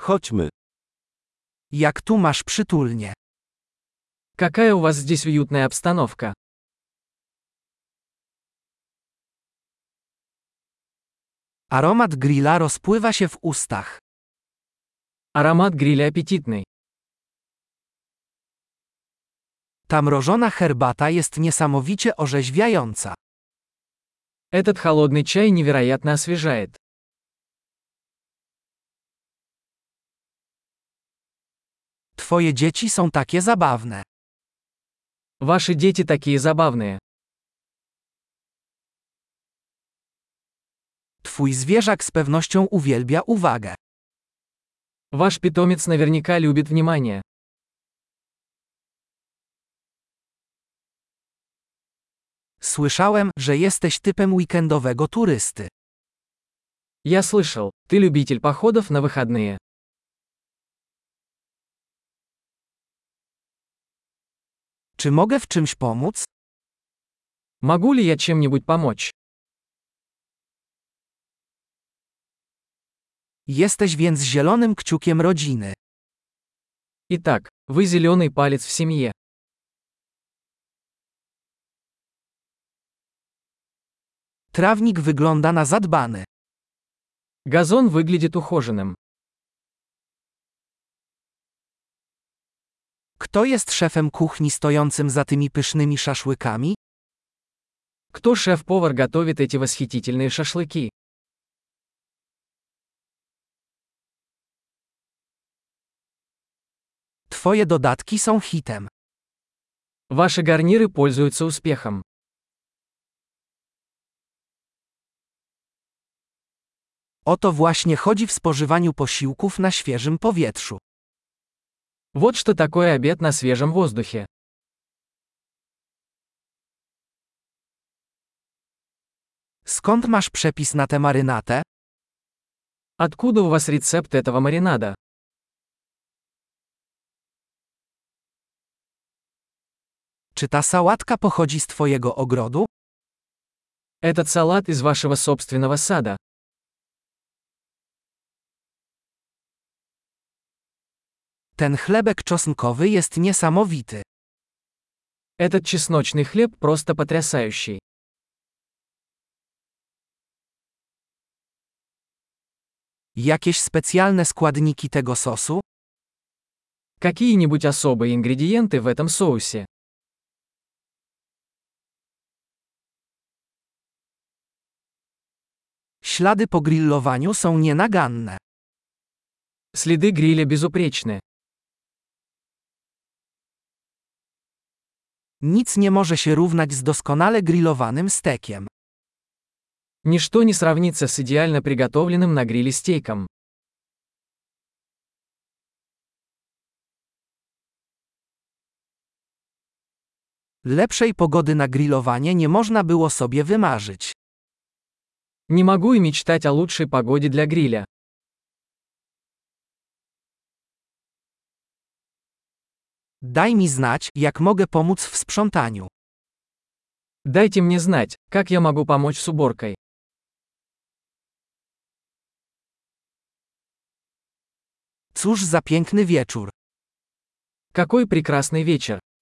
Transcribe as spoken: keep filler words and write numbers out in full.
Chodźmy. Jak tu masz przytulnie. Какая у вас здесь уютная обстановка. Aromat grilla rozpływa się w ustach. Аромат гриля аппетитный. Ta mrożona herbata jest niesamowicie orzeźwiająca. Этот холодный чай невероятно освежает. Twoje dzieci są takie zabawne. Ваши дети такие забавные. Twój zwierzak z pewnością uwielbia uwagę. Ваш питомец наверняка любит внимание. Słyszałem, że jesteś typem weekendowego turysty. Я слышал, ты любитель походов на выходные. Czy mogę w czymś pomóc? Могу ли я чем-нибудь помочь? Jesteś więc zielonym kciukiem rodziny. Итак, вы зеленый палец в семье. Trawnik wygląda na zadbany. Газон выглядит ухоженным. Kto jest szefem kuchni stojącym za tymi pysznymi szaszłykami? Кто шеф-повар готовит эти восхитительные шашлыки? Twoje dodatki są hitem. Ваши гарниры пользуются успехом. O to właśnie chodzi w spożywaniu posiłków na świeżym powietrzu. Вот что такое обед на свежем воздухе. Skąd masz przepis na tę marynatę? Откуда у вас рецепт этого маринада? Czy ta sałatka pochodzi z twojego ogrodu? Этот салат из вашего собственного сада. Ten chlebek czosnkowy jest niesamowity. Этот чесночный хлеб просто потрясающий. Jakieś specjalne składniki tego sosu? Какие-нибудь особые ингредиенты в этом соусе? Ślady po grillowaniu są nienaganne. Следы гриля безупречны. Nic nie może się równać z doskonale grillowanym stekiem. Ничто не сравнится с идеально приготовленным на гриле стейком. Lepszej pogody na grillowanie nie można było sobie wymarzyć. Не могу и мечтать о лучшей погоде для гриля. Daj mi znać, jak mogę pomóc w sprzątaniu. Дайте мне знать, как я могу помочь с уборкой. Cóż za piękny wieczór. Какой прекрасный вечер.